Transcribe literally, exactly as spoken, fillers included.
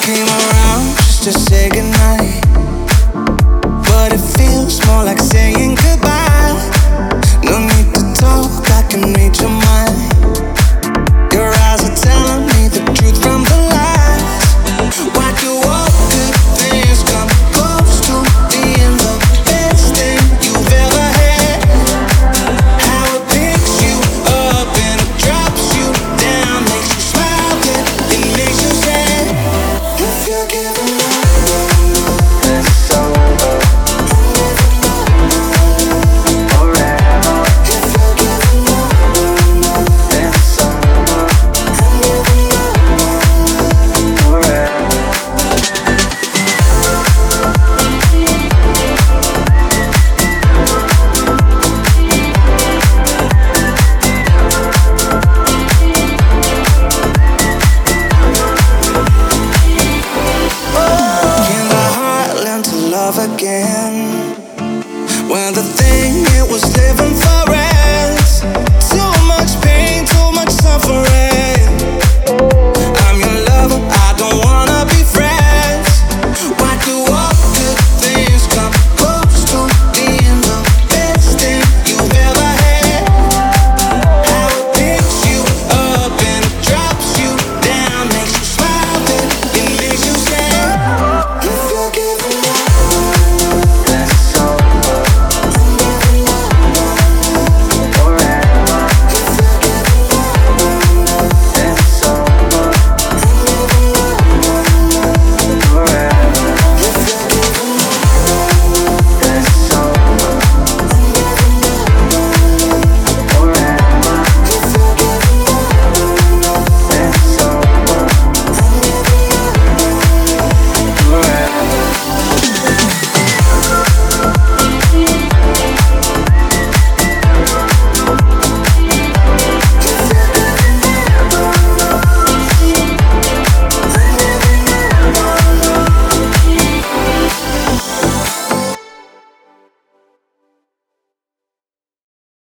came around just to say goodnight, but it feels more like saying goodbye. No need to talk, I can read your mind. Your eyes are telling me the truth.